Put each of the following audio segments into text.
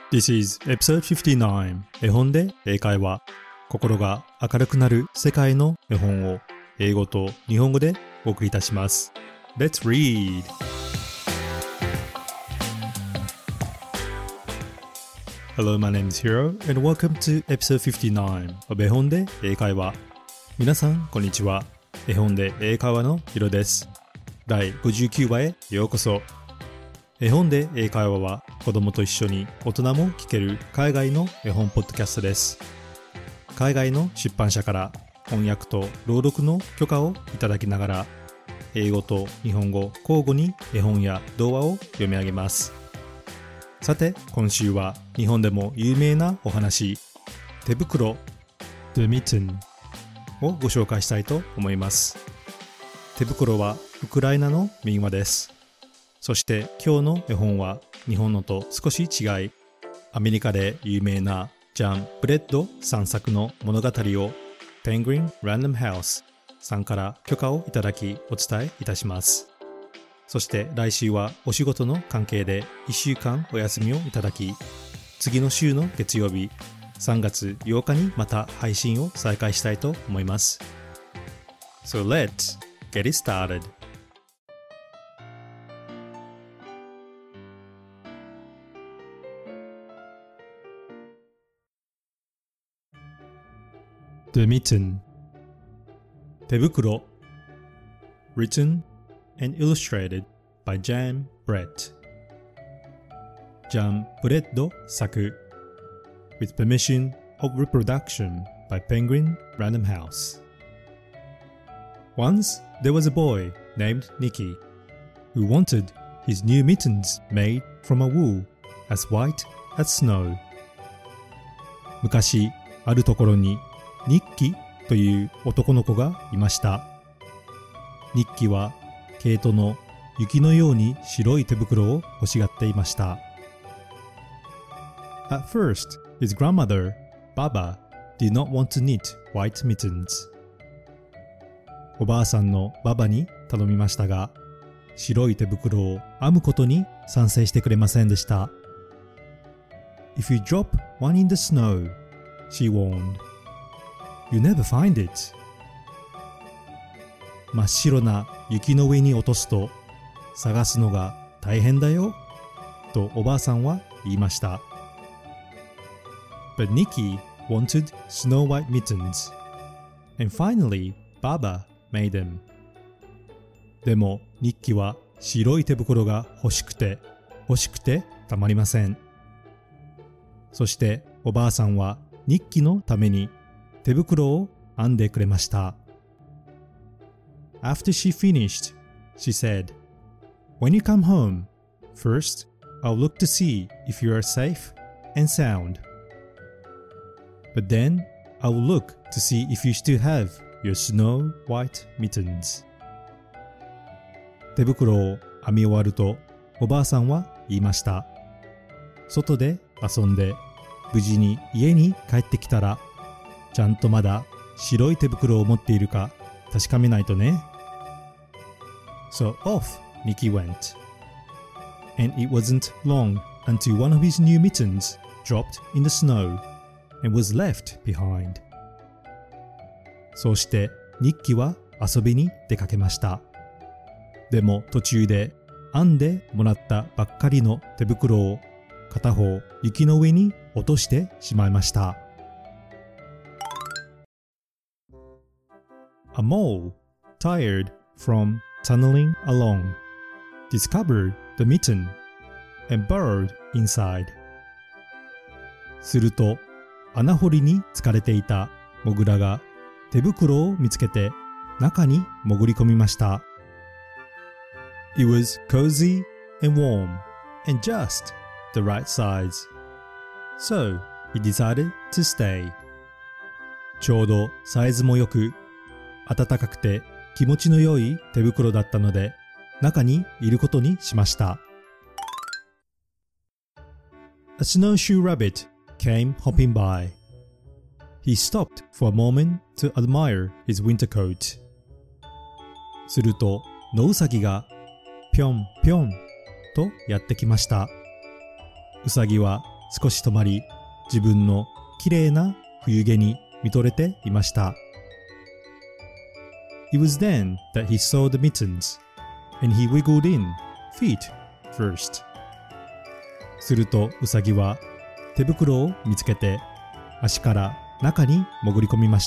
This is episode 59 絵本で英会話心が明るくなる世界の絵本を英語と日本語でお送りいたします Let's read! Hello, my name is Hiro and welcome to episode 59 of 絵本で英会話皆さんこんにちは絵本で英会話のヒロです第59話へようこそ絵本で英会話は子供と一緒に大人も聞ける海外の絵本ポッドキャストです。海外の出版社から翻訳と朗読の許可をいただきながら英語と日本語交互に絵本や童話を読み上げます。さて今週は日本でも有名なお話手袋 The Mitten をご紹介したいと思います。手袋はウクライナの民話です。そして今日の絵本は日本のと少し違い、アメリカで有名なジャン・ブレッドさん作の物語を Penguin Random House さんから許可をいただきお伝えいたします。そして来週はお仕事の関係で1週間お休みをいただき、次の週の月曜日3月8日にまた配信を再開したいと思います。So let's get it started.The Mitten 手袋 Written and illustrated by Jan Brett ジャン・ブレッド作 With permission of reproduction by Penguin Random House Once there was a boy named Nicky who wanted his new mittens made from a wool as white as snow 昔あるところにニッキという男の子がいました。ニッキは毛糸の雪のように白い手袋を欲しがっていました。At first, his grandmother, Baba, did not want to knit white mittens. おばあさんのババに頼みましたが、白い手袋を編むことに賛成してくれませんでした。If you drop one in the snow, she warned.You never find it. 真っ白な雪の上に落とすと探すのが大変だよとおばあさんは言いました。But Nicky wanted snow white mittens and finally Baba made them. でもニッキは白い手袋が欲しくてたまりません。そしておばあさんはニッキのために手袋を編んでくれました。After she finished, she said, When you come home, first I'll look to see if you are safe and sound. But then I'll look to see if you still have your snow white mittens. 手袋を編み終わるとおばあさんは言いました。外で遊んで無事に家に帰ってきたらちゃんとまだ白い手袋を持っているか確かめないとね。So off Nicky went. And it wasn't long until one of his new mittens dropped in the snow and was left behind. そうしてニッキは遊びに出かけました。でも途中で編んでもらったばっかりの手袋を片方雪の上に落としてしまいました。A mole, tired from tunneling along, discovered the mitten and burrowed inside. すると、穴掘りに疲れていたモグラが手袋を見つけて中に潜り込みました。It was cozy and warm and just the right size. So he decided to stay. ちょうどサイズも良く暖かくて気持ちの良い手袋だったので中にいることにしました。A snowshoe rabbit came hopping by. He stopped for a moment to admire his winter coat. すると野ウサギがぴょんぴょんとやってきました。ウサギは少し止まり、自分のきれいな冬毛に見とれていました。It was then that he saw the mittens, and he wiggled in, feet first. するとウサギは手袋を見つけて足から中に潜り込みました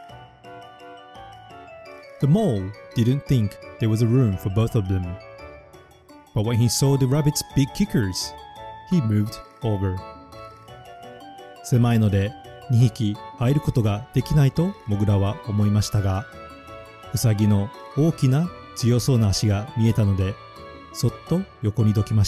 。The mole didn't think there was a room for both of them, but when he saw the rabbit's big kickers, he moved over. 狭いので2匹入ることができないとモグラは思いましたが、ウサギの大きな強そうな足が見えたので、そっと横にどきました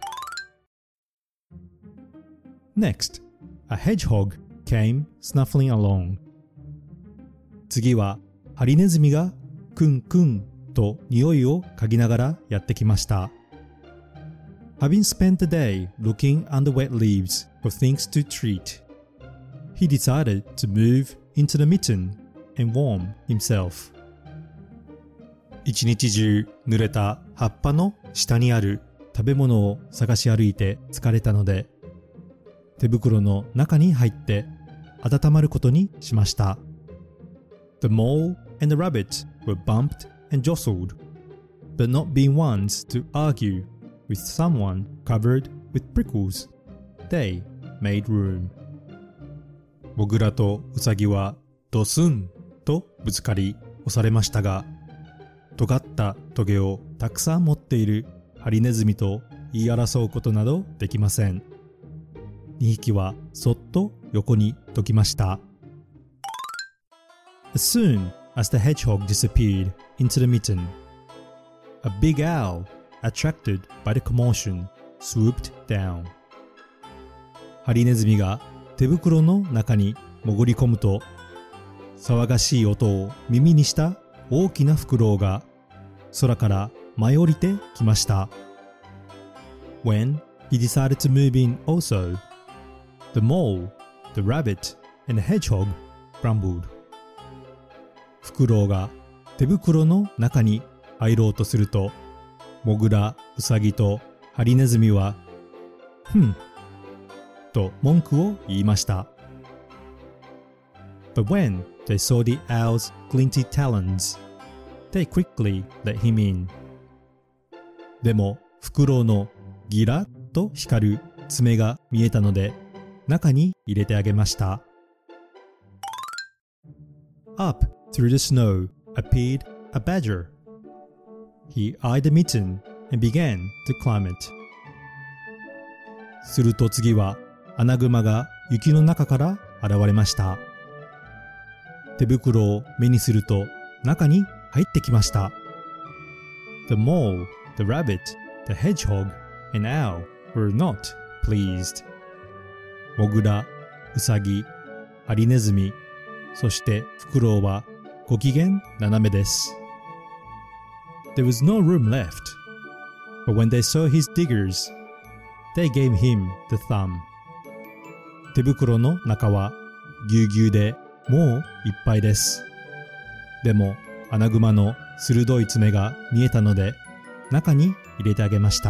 。Next, a hedgehog came snuffling along. 次はハリネズミがクンクンと匂いを嗅ぎながらやってきました。Having spent the day looking under wet leaves for things to treat, he decided to move into the mitten and warm himself. 一日中濡れた葉っぱの下にある食べ物を探し歩いて疲れたので、手袋の中に入って温まることにしました。The mole and the rabbit were bumped and jostled, but not being ones to argue with someone covered with prickles, they made room. モグラとウサギはドスンとぶつかり押されましたが、尖ったトゲをたくさん持っているハリネズミと言い争うことなどできません。2匹はそっと横にどきました。As soon as the hedgehog disappeared into the mitten, a big owl, attracted by the commotion, swooped down. ハリネズミが手袋の中に潜り込むと、騒がしい音を耳にした大きなフクロウが空から舞い降りてきました。When he decided to move in also, the mole, the rabbit, and the hedgehog grumbled. フクロウが手袋の中に入ろうとすると、モグラ、ウサギとハリネズミは、と文句を言いました。But when they saw the owl's glinty talons, they quickly let him in. でも、フクロウのギラッと光る爪が見えたので、中に入れてあげました。Up through the snow appeared a badger. He eyed the mitten and began to climb it. すると次はアナグマが雪の中から現れました。手袋を目にすると中に入ってきました。The mole, the rabbit, the hedgehog, and owl were not pleased. モグラ、ウサギ、ハリネズミ、そしてフクロウはご機嫌斜めです。There was no room left, but when they saw his diggers, they gave him the thumb. 手袋の中はぎゅうぎゅうでもういっぱいです。でもアナグマの鋭い爪が見えたので中に入れてあげました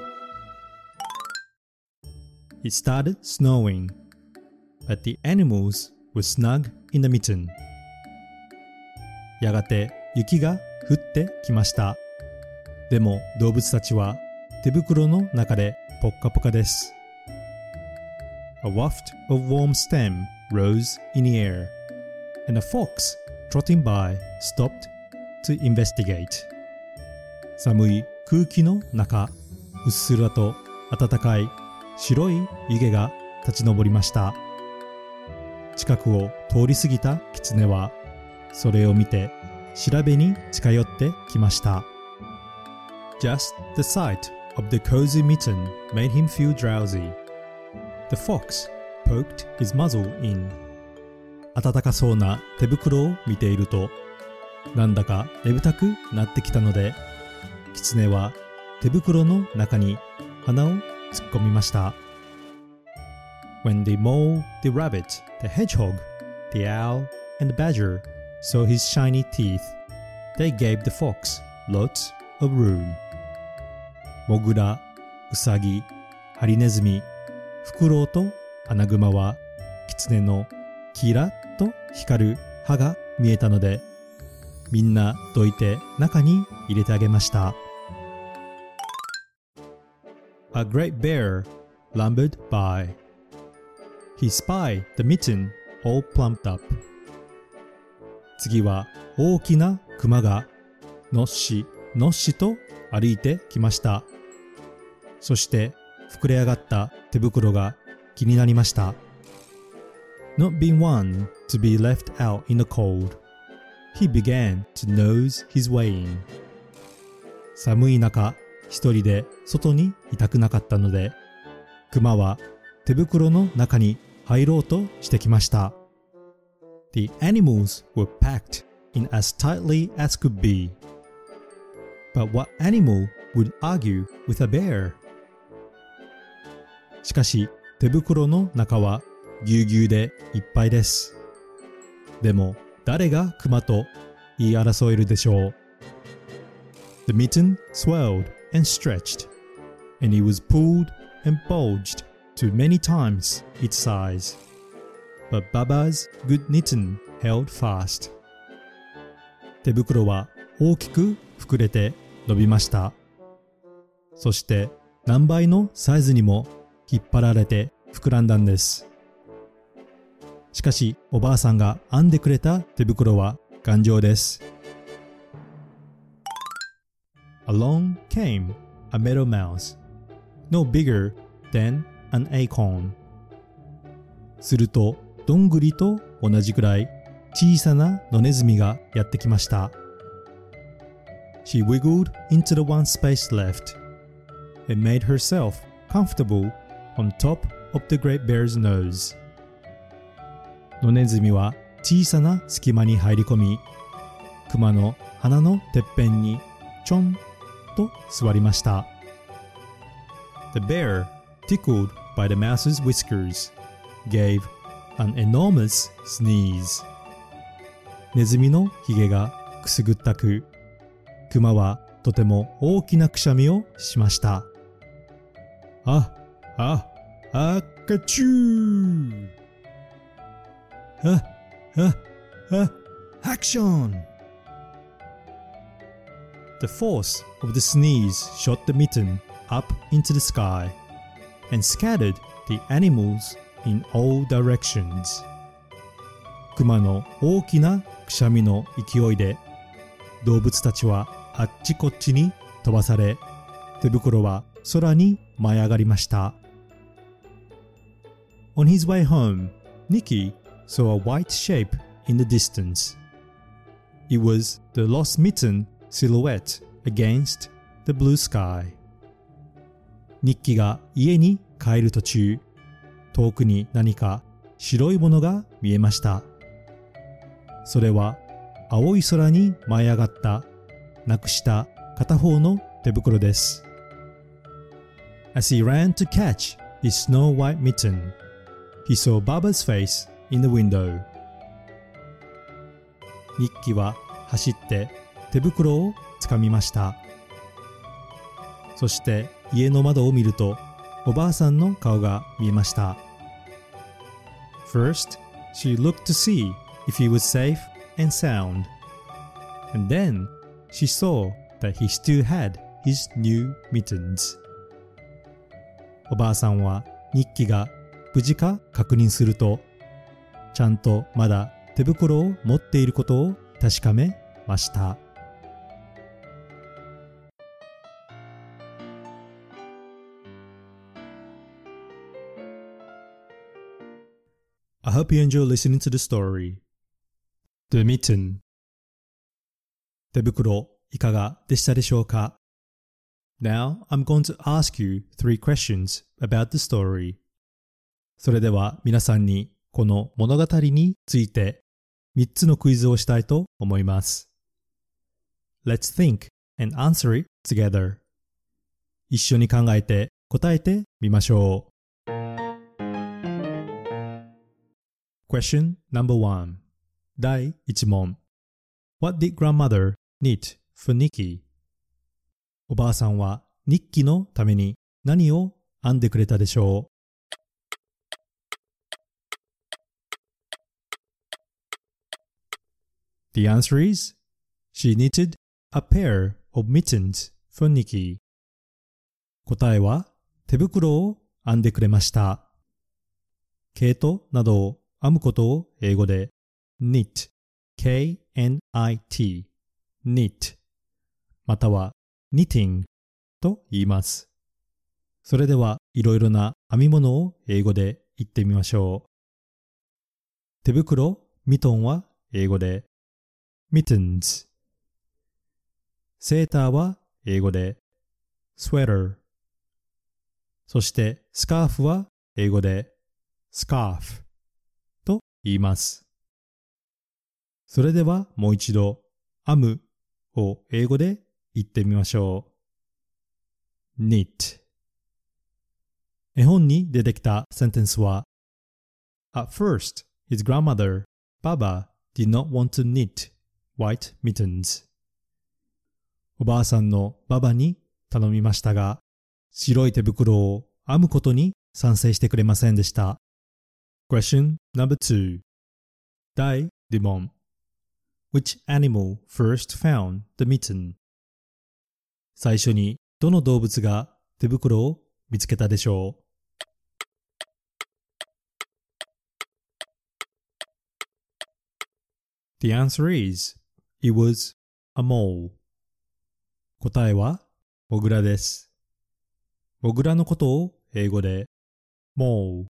。It started snowing, but the animals were snug in the mitten. やがて雪が降ってきました。でも動物たちは手袋の中でポッカポカです。A waft of warm stem rose in the air, and a fox trotting by stopped to investigate. 寒い空気の中、うっすらと暖かい白い湯気が立ち上りました。近くを通り過ぎた狐は、それを見て調べに近寄ってきました。Just the sight of the cozy mitten made him feel drowsy. The fox poked his muzzle in. 暖かそうな手袋を見ていると、なんだか眠たくなってきたので、狐は手袋の中に鼻を突っ込みました。When the mole, the rabbit, the hedgehog, the owl, and the badger saw his shiny teeth, they gave the fox lots of room. モグラ、ウサギ、ハリネズミ、フクロウとアナグマは狐のキラッと光る歯が見えたので、みんなどいて中に入れてあげました。A great bear lumbered by. He spied the mitten all plumped up. 次は大きなクマがのっしのっしと歩いてきました。そして膨れ上がった手袋が気になりました。Not being one to be left out in the cold, he began to nose his way in. 寒い中、一人で外にいたくなかったので、クマは手袋の中に入ろうとしてきました。The animals were packed in as tightly as could be. But what animal would argue with a bear? しかし、手袋の中はぎゅうぎゅうでいっぱいです。でも、誰がクマと言い争えるでしょう。The mitten swelled and stretched, and it was pulled and bulged to many times its size. But Baba's good mitten held fast. 手袋は大きく膨れて伸びました。そして何倍のサイズにも引っ張られて膨らんだんです。しかしおばあさんが編んでくれた手袋は頑丈です。Along came a meadow mouse, no bigger than an acorn. するとどんぐりと同じくらい小さな野ネズミがやってきました。She wiggled into the one space left and made herself comfortable on top of the great bear's nose. 野ネズミは小さな隙間に入り込み、クマの鼻のてっぺんにちょんと座りました。The bear, tickled by the mouse's whiskers, gave an enormous sneeze. ネズミのひげがくすぐったく、クマはとても大きなくしゃみをしました。あかちゅー。アクション。The force of the sneeze shot the mitten up into the sky and scattered the animals in all directions. クマの大きなくしゃみの勢いで動物たちはあっちこっちに飛ばされ、手袋は空に舞い上がりました。On his way home, Nicky saw a white shape in the distance. It was the lost mitten silhouette against the blue sky. ニッキが家に帰る途中、遠くに何か白いものが見えました。それは青い空に舞い上がったなくした片方の手袋です。As he ran to catch his snow white mitten, he saw Baba's face in the window. ニッキは走って手袋をつかみました。そして家の窓を見るとおばあさんの顔が見えました。First, she looked to see if he was safe and sound. And then she saw that he still had his new mittens. おばあさんはニッキが無事か確認すると、ちゃんとまだ手袋を持っていることを確かめました。I hope you enjoy listening to the story. The Mitten. 手袋いかがでしたでしょうか？ Now I'm going to ask you 3 questions about the story. それでは皆さんにこの物語について3つのクイズをしたいと思います。Let's think and answer it together. 一緒に考えて答えてみましょう。Question number 1. 第1問。What did grandmother knit for Nicky? おばあさんはニッキのために何を編んでくれたでしょう？ The answer is, she knitted a pair of mittens for Nikki. 答えは、手袋を編んでくれました。毛糸などを編むことを英語で knit, K-N-I-T, knit または knitting と言います。それではいろいろな編み物を英語で言ってみましょう。手袋、ミトンは英語で mittens。セーターは英語で sweater。そしてスカーフは英語で scarf と言います。それではもう一度編むを英語で言ってみましょう。knit。絵本に出てきたセンテンスは At first, his grandmother, Baba, did not want to knit white mittens. おばあさんのババに頼みましたが、白い手袋を編むことに賛成してくれませんでした。Question number 2. 第2問。Which animal first found the mitten? 最初にどの動物が手袋を見つけたでしょう。The answer is, it was a mole. 答えは、モグラです。モグラのことを英語で、mole,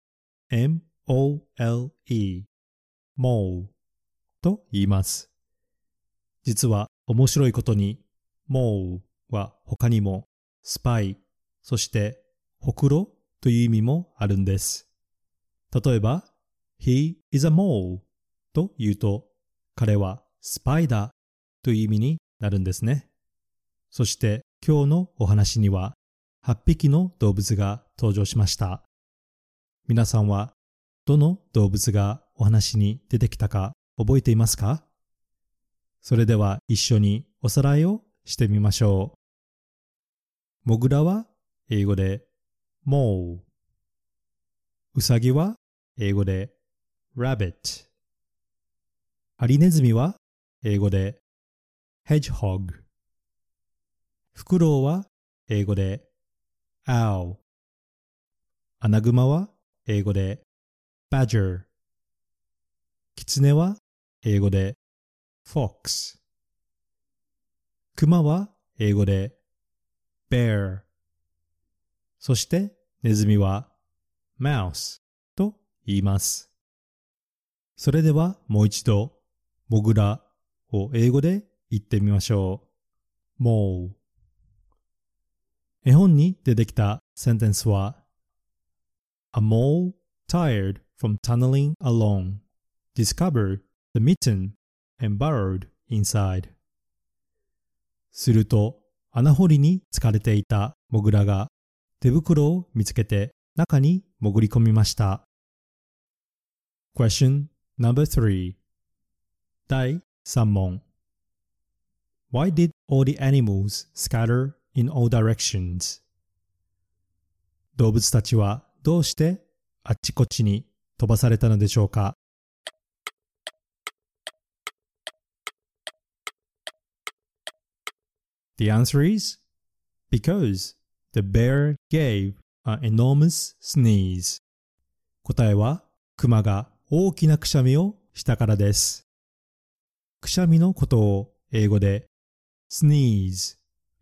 M-O-L-E, mole と言います。実は面白いことに、mole は他にも、スパイ、そしてほくろという意味もあるんです。例えば、He is a mole と言うと、彼はスパイだという意味になるんですね。そして今日のお話には8匹の動物が登場しました。皆さんはどの動物がお話に出てきたか覚えていますか？それでは一緒におさらいをしてみましょう。モグラは英語で mole。ウサギは英語で rabbit。ハリネズミは英語で hedgehog。フクロウは英語で owl。アナグマは英語で badger。キツネは英語で fox。クマは英語で bear。そしてネズミは mouse と言います。それではもう一度モグラを英語で言ってみましょう。mole。絵本に出てきたセンテンスは A mole tired from tunneling along discovered the mitten and burrowed inside。すると穴掘りに疲れていたモグラが手袋を見つけて中に潜り込みました。Question number 3. 第3問。Why did all the animals scatter in all directions? 動物たちはどうしてあっちこっちに飛ばされたのでしょうか？ The answer is, because the bear gave an enormous sneeze. 答えは、クマが大きなくしゃみをしたからです。くしゃみのことを英語で sneeze,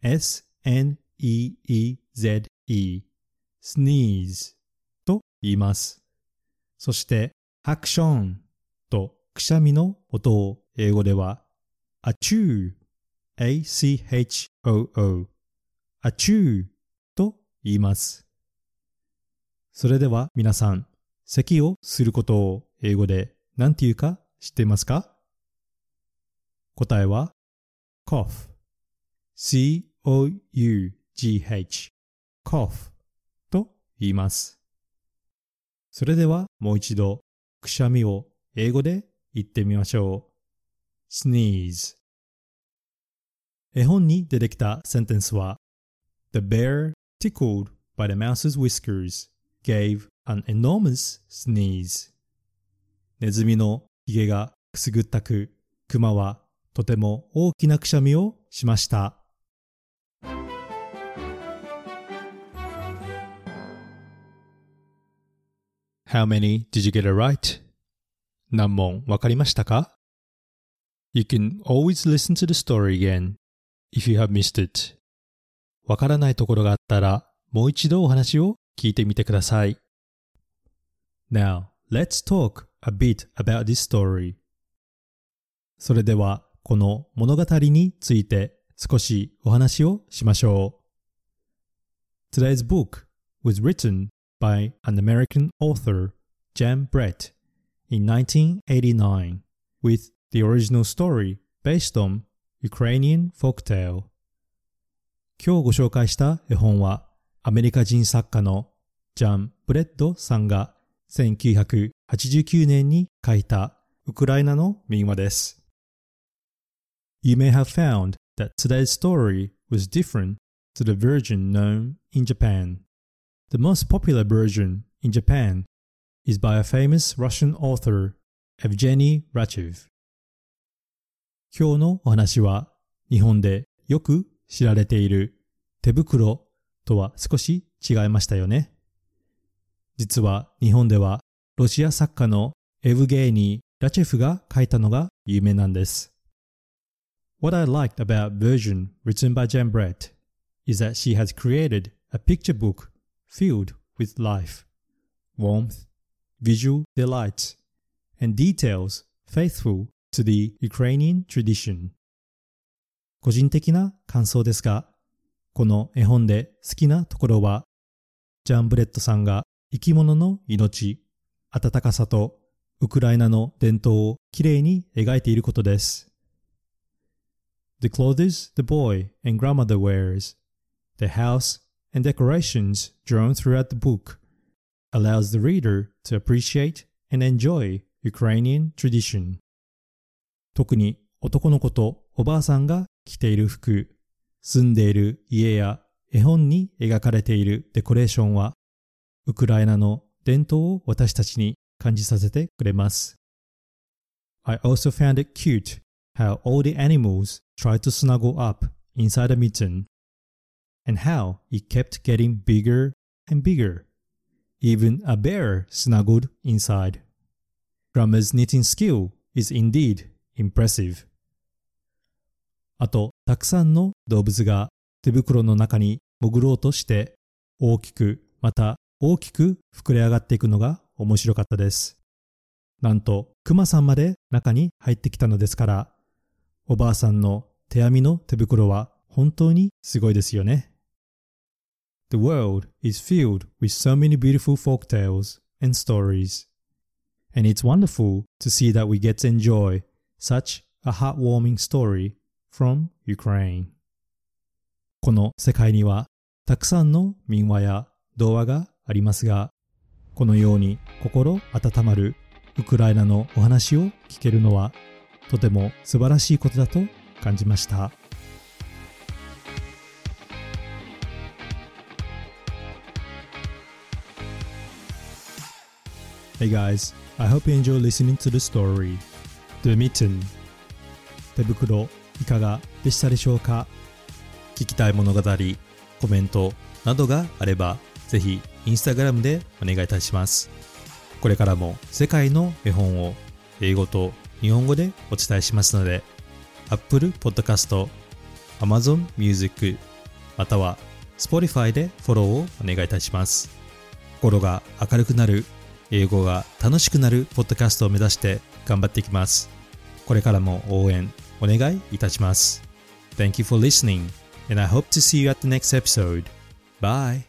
S-N-E-E-Z-E, sneeze と言います。そしてアクションとくしゃみの音を英語では achoo, A-C-H-O-O, achoo と言います。それでは皆さん、咳をすることを英語で何て言うか知っていますか？答えは cough, C-O-U-G-H, cough と言います。それではもう一度くしゃみを英語で言ってみましょう。sneeze。絵本に出てきたセンテンスは The bear, tickled by the mouse's whiskers, gave an enormous sneeze. ネズミのひげがくすぐったく、クマはとても大きなくしゃみをしました。How many did you get it right? 何問わかりましたか？ You can always listen to the story again if you have missed it. わからないところがあったらもう一度お話を聞いてみてください。Now, let's talk a bit about this story. それではこの物語について少しお話をしましょう。Today's book was written by an American author, Jan Brett, in 1989, with the original story based on Ukrainian folktale. 今日ご紹介した絵本はアメリカ人作家のジャン・ブレッドさんが1989年に書いたウクライナの民話です。You may have found that today's story was different to the version known in Japan.The most popular version in Japan is by a famous Russian author, Evgeny Rachev. 今日のお話は日本でよく知られている手袋とは少し違いましたよね。実は日本ではロシア作家のエヴゲーニー・ラチェフが書いたのが有名なんです。What I liked about version written by Jan Brett is that she has created a picture book.filled with life, warmth, visual delights, and details faithful to the Ukrainian tradition. 個人的な感想ですが、この絵本で好きなところは、ジャン・ブレットさんが生き物の命、温かさとウクライナの伝統をきれいに描いていることです。The clothes the boy and grandmother wears, the house,and decorations drawn throughout the book allows the reader to appreciate and enjoy Ukrainian tradition. 特に男の子とおばあさんが着ている服、住んでいる家や絵本に描かれているデコレーションはウクライナの伝統を私たちに感じさせてくれます。I also found it cute how all the animals tried to snuggle up inside a mitten.And how it kept getting bigger and bigger. Even a bear snuggled inside. Grandma's knitting skill is indeed impressive. あと、たくさんの動物が手袋の中に潜ろうとして大きくまた大きく膨れ上がっていくのが面白かったです。なんと、クマさんまで中に入ってきたのですから、おばあさんの手編みの手袋は本当にすごいですよね。The world is filled with so many beautiful folk tales and stories, and it's wonderful to see that we get to enjoy such a heartwarming story from Ukraine. この世界にはたくさんの民話や童話がありますが、このように心温まるウクライナのお話を聞けるのはとても素晴らしいことだと感じました。Hey guys, I hope you enjoy listening to the story. The Mitten. 手袋いかがでしたでしょうか？聞きたい物語、コメントなどがあれば、ぜひインスタグラムでお願いいたします。これからも世界の絵本を英語と日本語でお伝えしますので、Apple Podcast、Amazon Music、または Spotify でフォローをお願いいたします。心が明るくなる、英語が楽しくなるポッドキャストを目指して頑張っていきます。これからも応援お願いいたします。Thank you for listening, and I hope to see you at the next episode. Bye!